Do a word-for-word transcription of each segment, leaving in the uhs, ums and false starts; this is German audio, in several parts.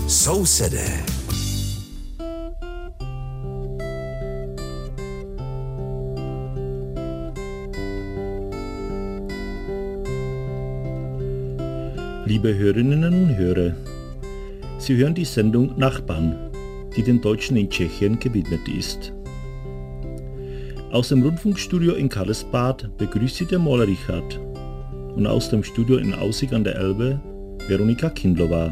Sousedé. Liebe Hörerinnen und Hörer, Sie hören die Sendung Nachbarn, die den Deutschen in Tschechien gewidmet ist. Aus dem Rundfunkstudio in Karlsbad begrüßt Sie der Maler Richard und aus dem Studio in Aussig an der Elbe Veronika Kindlova.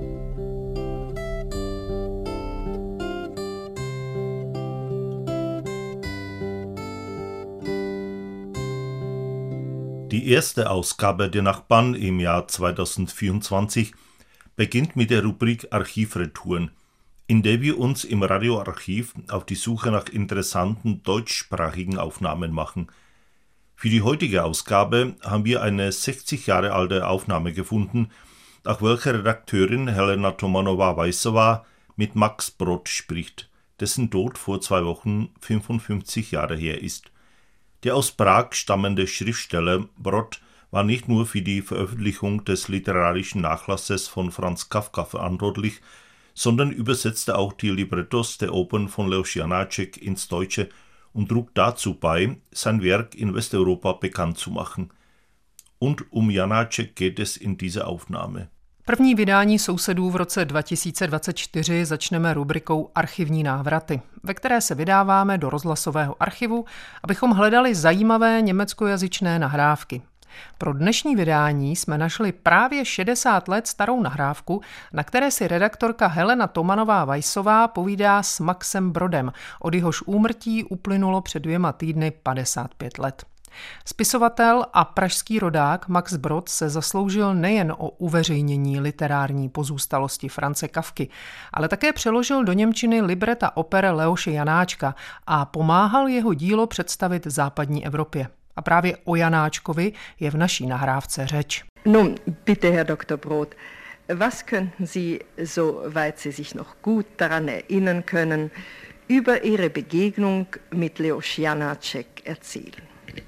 Die erste Ausgabe der Nachbarn im Jahr zweitausendvierundzwanzig beginnt mit der Rubrik Archivretouren, in der wir uns im Radioarchiv auf die Suche nach interessanten deutschsprachigen Aufnahmen machen. Für die heutige Ausgabe haben wir eine sechzig Jahre alte Aufnahme gefunden, nach welcher Redakteurin Helena Tomanowa-Weissova mit Max Brod spricht, dessen Tod vor zwei Wochen fünfundfünfzig Jahre her ist. Der aus Prag stammende Schriftsteller Brod war nicht nur für die Veröffentlichung des literarischen Nachlasses von Franz Kafka verantwortlich, sondern übersetzte auch die Librettos der Opern von Leoš Janáček ins Deutsche und trug dazu bei, sein Werk in Westeuropa bekannt zu machen. Und um Janáček geht es in dieser Aufnahme. První vydání Sousedů v roce dva tisíce dvacet čtyři začneme rubrikou Archivní návraty, ve které se vydáváme do rozhlasového archivu, abychom hledali zajímavé německojazyčné nahrávky. Pro dnešní vydání jsme našli právě šedesát let starou nahrávku, na které si redaktorka Helena Tomanová-Weissová povídá s Maxem Brodem, od jehož úmrtí uplynulo před dvěma týdny padesát pět let. Spisovatel a pražský rodák Max Brod se zasloužil nejen o uveřejnění literární pozůstalosti France Kafky, ale také přeložil do němčiny libreta oper Leoše Janáčka a pomáhal jeho dílo představit západní Evropě. A právě o Janáčkovi je v naší nahrávce řeč. Nun, bitte, Herr Doktor Brod, was könnten Sie, soweit Sie sich noch gut daran erinnern können, über Ihre Begegnung mit Leoš Janáček erzählen?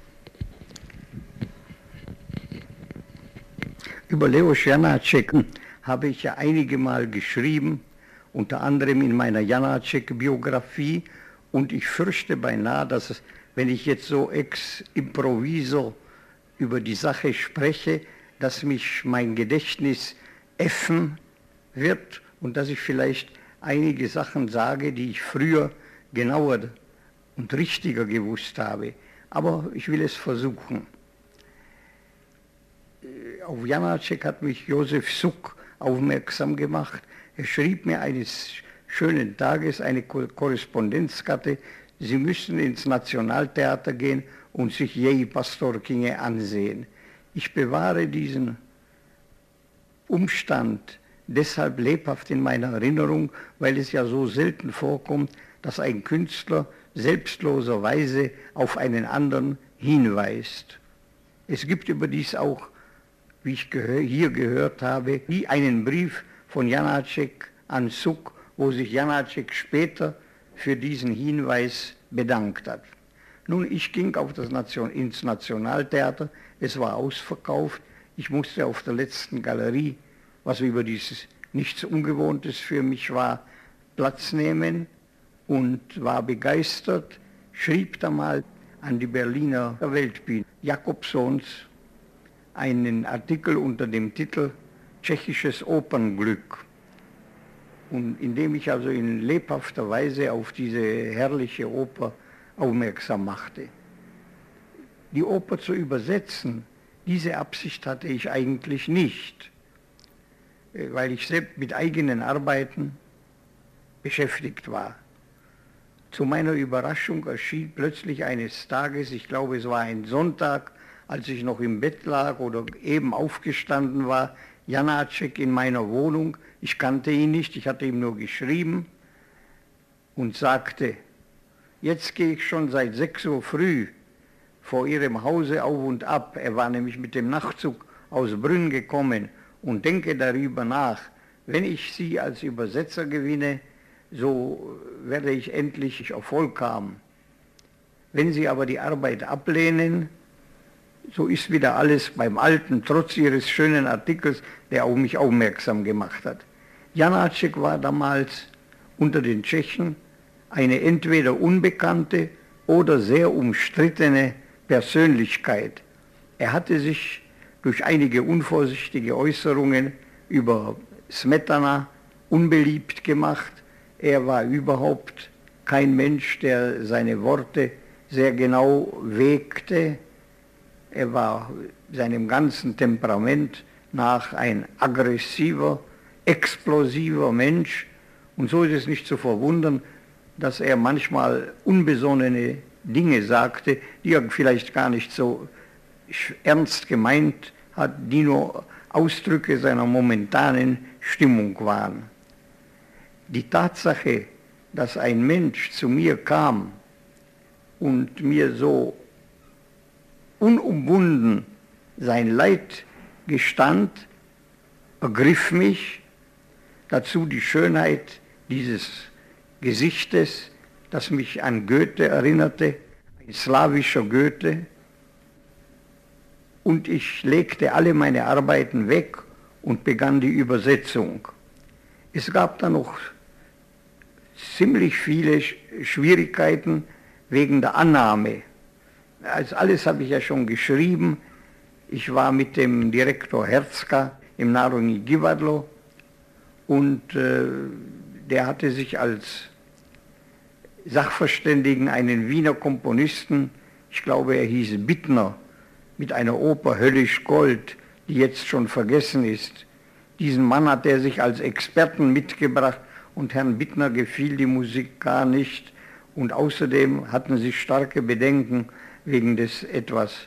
Über Leoš Janáček habe ich ja einige Mal geschrieben, unter anderem in meiner Janáček-Biografie, und ich fürchte beinahe, dass es, wenn ich jetzt so ex improviso über die Sache spreche, dass mich mein Gedächtnis äffen wird und dass ich vielleicht einige Sachen sage, die ich früher genauer und richtiger gewusst habe. Aber ich will es versuchen. Auf Janáček hat mich Josef Suk aufmerksam gemacht. Er schrieb mir eines schönen Tages eine Korrespondenzkarte, Sie müssen ins Nationaltheater gehen und sich J. Pastorkinge ansehen. Ich bewahre diesen Umstand deshalb lebhaft in meiner Erinnerung, weil es ja so selten vorkommt, dass ein Künstler selbstloserweise auf einen anderen hinweist. Es gibt überdies auch, wie ich gehör, hier gehört habe, wie einen Brief von Janáček an Suk, wo sich Janáček später für diesen Hinweis bedankt hat. Nun, ich ging auf das Nation, ins Nationaltheater, es war ausverkauft, ich musste auf der letzten Galerie, was über dieses nichts Ungewohntes für mich war, Platz nehmen und war begeistert, schrieb da mal an die Berliner Weltbühne Jakobsons einen Artikel unter dem Titel Tschechisches Opernglück. Und indem ich also in lebhafter Weise auf diese herrliche Oper aufmerksam machte. Die Oper zu übersetzen, diese Absicht hatte ich eigentlich nicht, weil ich selbst mit eigenen Arbeiten beschäftigt war. Zu meiner Überraschung erschien plötzlich eines Tages, ich glaube es war ein Sonntag, als ich noch im Bett lag oder eben aufgestanden war, Janáček in meiner Wohnung. Ich kannte ihn nicht, ich hatte ihm nur geschrieben und sagte, jetzt gehe ich schon seit sechs Uhr früh vor Ihrem Hause auf und ab. Er war nämlich mit dem Nachtzug aus Brünn gekommen und denke darüber nach. Wenn ich Sie als Übersetzer gewinne, so werde ich endlich Erfolg haben. Wenn Sie aber die Arbeit ablehnen, so ist wieder alles beim Alten, trotz Ihres schönen Artikels, der auf mich aufmerksam gemacht hat. Janáček war damals unter den Tschechen eine entweder unbekannte oder sehr umstrittene Persönlichkeit. Er hatte sich durch einige unvorsichtige Äußerungen über Smetana unbeliebt gemacht. Er war überhaupt kein Mensch, der seine Worte sehr genau wägte. Er war seinem ganzen Temperament nach ein aggressiver, explosiver Mensch. Und so ist es nicht zu verwundern, dass er manchmal unbesonnene Dinge sagte, die er vielleicht gar nicht so ernst gemeint hat, die nur Ausdrücke seiner momentanen Stimmung waren. Die Tatsache, dass ein Mensch zu mir kam und mir so unumwunden sein Leid gestand, ergriff mich, dazu die Schönheit dieses Gesichtes, das mich an Goethe erinnerte, ein slawischer Goethe, und ich legte alle meine Arbeiten weg und begann die Übersetzung. Es gab dann noch ziemlich viele Schwierigkeiten wegen der Annahme. Also alles habe ich ja schon geschrieben. Ich war mit dem Direktor Herzka im Národní divadlo und äh, der hatte sich als Sachverständigen einen Wiener Komponisten, ich glaube er hieß Bittner, mit einer Oper Höllisch Gold, die jetzt schon vergessen ist. Diesen Mann hat er sich als Experten mitgebracht und Herrn Bittner gefiel die Musik gar nicht. Und außerdem hatten sie starke Bedenken wegen des etwas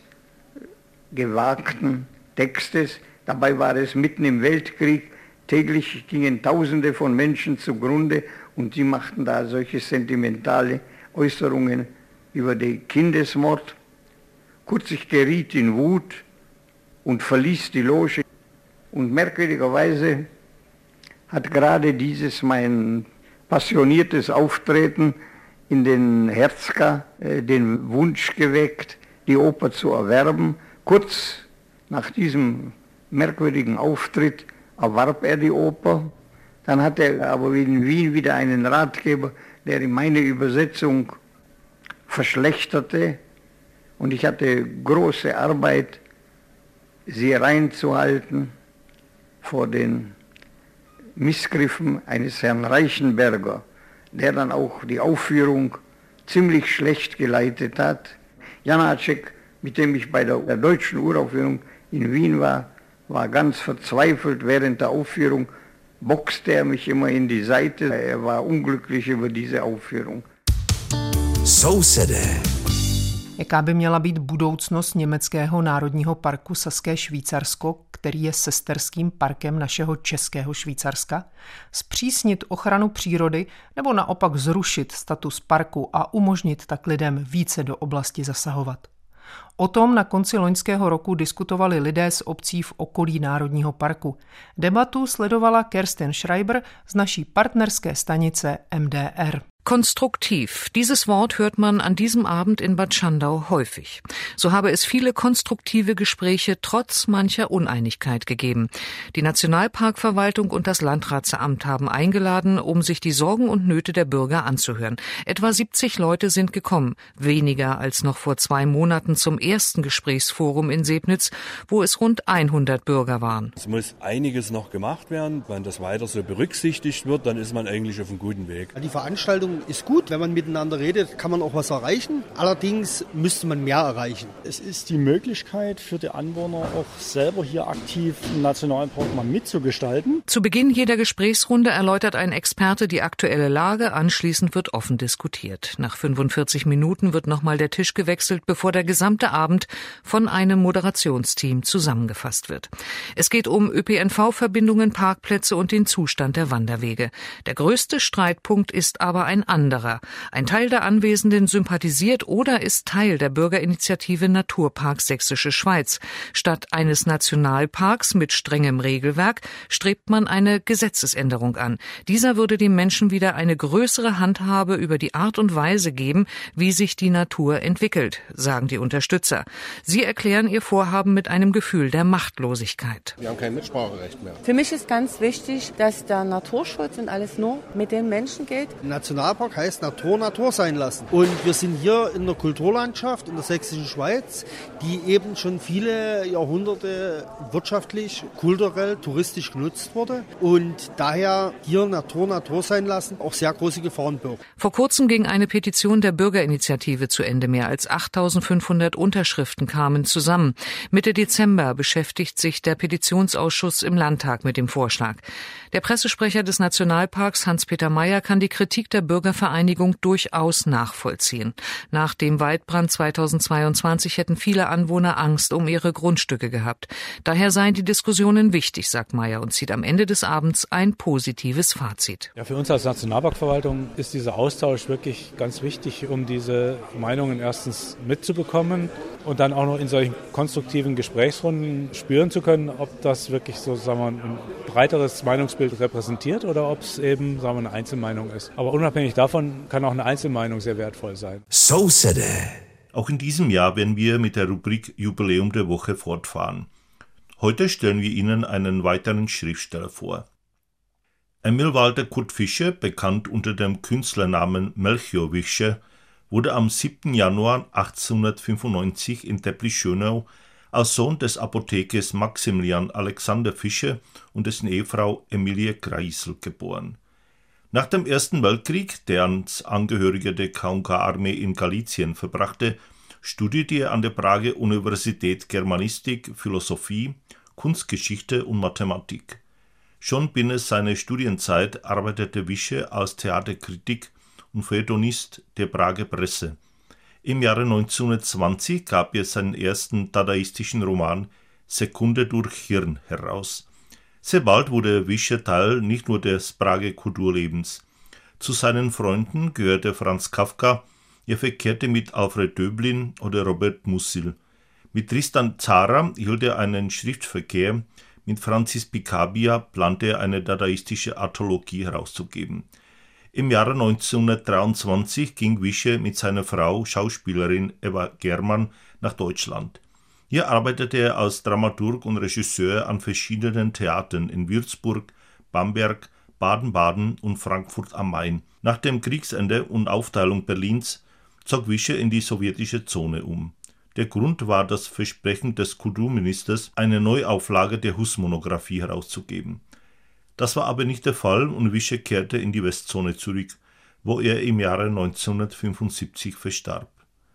gewagten Textes. Dabei war es mitten im Weltkrieg. Täglich gingen Tausende von Menschen zugrunde und sie machten da solche sentimentale Äußerungen über den Kindesmord. Kurz, ich geriet in Wut und verließ die Loge. Und merkwürdigerweise hat gerade dieses mein passioniertes Auftreten in den Herzka äh, den Wunsch geweckt, die Oper zu erwerben. Kurz nach diesem merkwürdigen Auftritt erwarb er die Oper. Dann hat er aber in Wien wieder einen Ratgeber, der ihm meine Übersetzung verschlechterte. Und ich hatte große Arbeit, sie reinzuhalten vor den Missgriffen eines Herrn Reichenberger, der dann auch die Aufführung ziemlich schlecht geleitet hat. Janáček, mit dem ich bei der, der deutschen Uraufführung in Wien war, war ganz verzweifelt. Während der Aufführung boxte er mich immer in die Seite. Er war unglücklich über diese Aufführung. Sousede. Jaká by měla být budoucnost německého národního parku Saské Švýcarsko, který je sesterským parkem našeho českého Švýcarska? Zpřísnit ochranu přírody nebo naopak zrušit status parku a umožnit tak lidem více do oblasti zasahovat? O tom na konci loňského roku diskutovali lidé z obcí v okolí Národního parku. Debatu sledovala Kerstin Schreiber z naší partnerské stanice M D R. Konstruktiv. Dieses Wort hört man an diesem Abend in Bad Schandau häufig. So habe es viele konstruktive Gespräche trotz mancher Uneinigkeit gegeben. Die Nationalparkverwaltung und das Landratsamt haben eingeladen, um sich die Sorgen und Nöte der Bürger anzuhören. Etwa siebzig Leute sind gekommen, weniger als noch vor zwei Monaten zum ersten Gesprächsforum in Sebnitz, wo es rund hundert Bürger waren. Es muss einiges noch gemacht werden. Wenn das weiter so berücksichtigt wird, dann ist man eigentlich auf einem guten Weg. Die Veranstaltung ist gut, wenn man miteinander redet, kann man auch was erreichen. Allerdings müsste man mehr erreichen. Es ist die Möglichkeit für die Anwohner auch selber hier aktiv im Nationalpark mal mitzugestalten. Zu Beginn jeder Gesprächsrunde erläutert ein Experte die aktuelle Lage, anschließend wird offen diskutiert. Nach fünfundvierzig Minuten wird nochmal der Tisch gewechselt, bevor der gesamte Abend von einem Moderationsteam zusammengefasst wird. Es geht um Ö P N V-Verbindungen, Parkplätze und den Zustand der Wanderwege. Der größte Streitpunkt ist aber ein anderer. Ein Teil der Anwesenden sympathisiert oder ist Teil der Bürgerinitiative Naturpark Sächsische Schweiz. Statt eines Nationalparks mit strengem Regelwerk strebt man eine Gesetzesänderung an. Dieser würde den Menschen wieder eine größere Handhabe über die Art und Weise geben, wie sich die Natur entwickelt, sagen die Unterstützer. Sie erklären ihr Vorhaben mit einem Gefühl der Machtlosigkeit. Wir haben kein Mitspracherecht mehr. Für mich ist ganz wichtig, dass der Naturschutz und alles nur mit den Menschen geht. Nationalpark heißt Natur Natur sein lassen. Und wir sind hier in der Kulturlandschaft in der sächsischen Schweiz, die eben schon viele Jahrhunderte wirtschaftlich, kulturell, touristisch genutzt wurde. Und daher hier Natur Natur sein lassen auch sehr große Gefahren birgt. Vor kurzem ging eine Petition der Bürgerinitiative zu Ende. Mehr als achttausendfünfhundert Unterschriften kamen zusammen. Mitte Dezember beschäftigt sich der Petitionsausschuss im Landtag mit dem Vorschlag. Der Pressesprecher des Nationalparks, Hans-Peter Meyer, kann die Kritik der Bürgervereinigung durchaus nachvollziehen. Nach dem Waldbrand zweitausendzweiundzwanzig hätten viele Anwohner Angst um ihre Grundstücke gehabt. Daher seien die Diskussionen wichtig, sagt Meyer, und zieht am Ende des Abends ein positives Fazit. Ja, für uns als Nationalparkverwaltung ist dieser Austausch wirklich ganz wichtig, um diese Meinungen erstens mitzubekommen und dann auch noch in solchen konstruktiven Gesprächsrunden spüren zu können, ob das wirklich so, sagen wir, ein breiteres Meinungsbild repräsentiert oder ob es eben, sagen wir, eine Einzelmeinung ist. Aber unabhängig davon kann auch eine Einzelmeinung sehr wertvoll sein. So said it. Auch in diesem Jahr werden wir mit der Rubrik Jubiläum der Woche fortfahren. Heute stellen wir Ihnen einen weiteren Schriftsteller vor. Emil Walter Kurt Fischer, bekannt unter dem Künstlernamen Melchior Fischer, wurde am siebten Januar achtzehnhundertfünfundneunzig in Teplice-Schönau als Sohn des Apothekers Maximilian Alexander Fischer und dessen Ehefrau Emilie Kreisel geboren. Nach dem Ersten Weltkrieg, der als Angehöriger der K und K-Armee in Galizien verbrachte, studierte er an der Prager Universität Germanistik, Philosophie, Kunstgeschichte und Mathematik. Schon binnen seiner Studienzeit arbeitete Fischer als Theaterkritik und Feuilletonist der Prager Presse. Im Jahre neunzehnhundertzwanzig gab er seinen ersten dadaistischen Roman Sekunde durch Hirn heraus. Sehr bald wurde Fischer Teil nicht nur des Prager Kulturlebens. Zu seinen Freunden gehörte Franz Kafka, er verkehrte mit Alfred Döblin oder Robert Musil. Mit Tristan Tzara hielt er einen Schriftverkehr, mit Francis Picabia plante er eine dadaistische Anthologie herauszugeben. Im Jahre neunzehnhundertdreiundzwanzig ging Fischer mit seiner Frau, Schauspielerin Eva Germann, nach Deutschland. Hier arbeitete er als Dramaturg und Regisseur an verschiedenen Theatern in Würzburg, Bamberg, Baden-Baden und Frankfurt am Main. Nach dem Kriegsende und Aufteilung Berlins zog Fischer in die sowjetische Zone um. Der Grund war das Versprechen des Kulturministers, eine Neuauflage der Hus-Monographie herauszugeben. Das war aber nicht der Fall und Fischer kehrte in die Westzone zurück, wo er im Jahre neunzehnhundertfünfundsiebzig verstarb.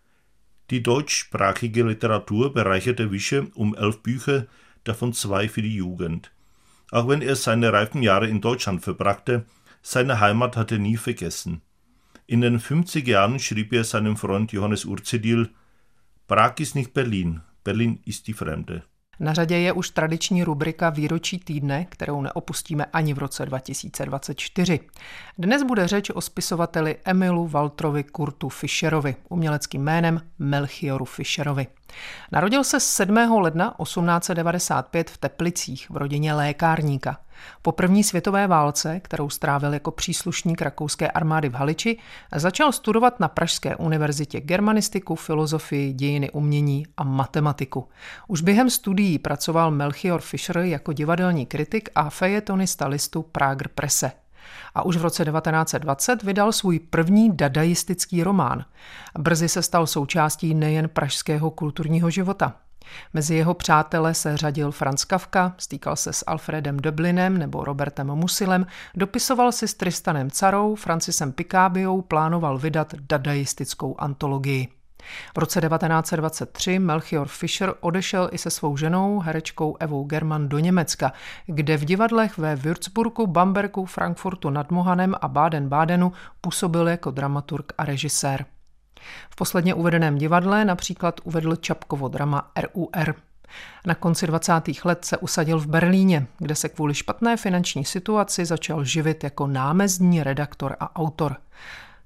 Die deutschsprachige Literatur bereicherte Fischer um elf Bücher, davon zwei für die Jugend. Auch wenn er seine reifen Jahre in Deutschland verbrachte, seine Heimat hat er nie vergessen. In den fünfziger Jahren schrieb er seinem Freund Johannes Urzedil: Prag ist nicht Berlin, Berlin ist die Fremde. Na řadě je už tradiční rubrika Výročí týdne, kterou neopustíme ani v roce dva tisíce dvacet čtyři. Dnes bude řeč o spisovateli Emilu Walterovi Kurtu Fischerovi, uměleckým jménem Melchioru Fischerovi. Narodil se sedmého ledna osmnáct set devadesát pět v Teplicích v rodině lékárníka. Po první světové válce, kterou strávil jako příslušník rakouské armády v Haliči, začal studovat na Pražské univerzitě germanistiku, filozofii, dějiny umění a matematiku. Už během studií pracoval Melchior Fischer jako divadelní kritik a fejetonista listu Prager Presse. A už v roce devatenáct set dvacet vydal svůj první dadaistický román. Brzy se stal součástí nejen pražského kulturního života. Mezi jeho přátele se řadil Franz Kafka, stýkal se s Alfredem Döblinem nebo Robertem Musilem, dopisoval si s Tristanem Tzarou, Francisem Picabiou, plánoval vydat dadaistickou antologii. V roce devatenáct set dvacet tři Melchior Fischer odešel i se svou ženou, herečkou Evou Germann, do Německa, kde v divadlech ve Würzburgu, Bambergu, Frankfurtu nad Mohanem a Baden-Badenu působil jako dramaturg a režisér. V posledně uvedeném divadle například uvedl Čapkovo drama R U R. Na konci dvacátých let se usadil v Berlíně, kde se kvůli špatné finanční situaci začal živit jako námezdní redaktor a autor.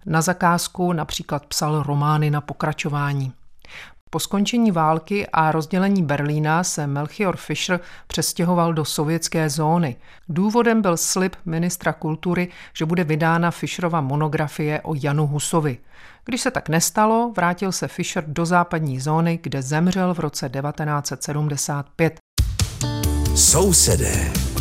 Na zakázku například psal romány na pokračování. Po skončení války a rozdělení Berlína se Melchior Fischer přestěhoval do sovětské zóny. Důvodem byl slib ministra kultury, že bude vydána Fischerova monografie o Janu Husovi. Když se tak nestalo, vrátil se Fischer do západní zóny, kde zemřel v roce devatenáct set sedmdesát pět. Sousedé.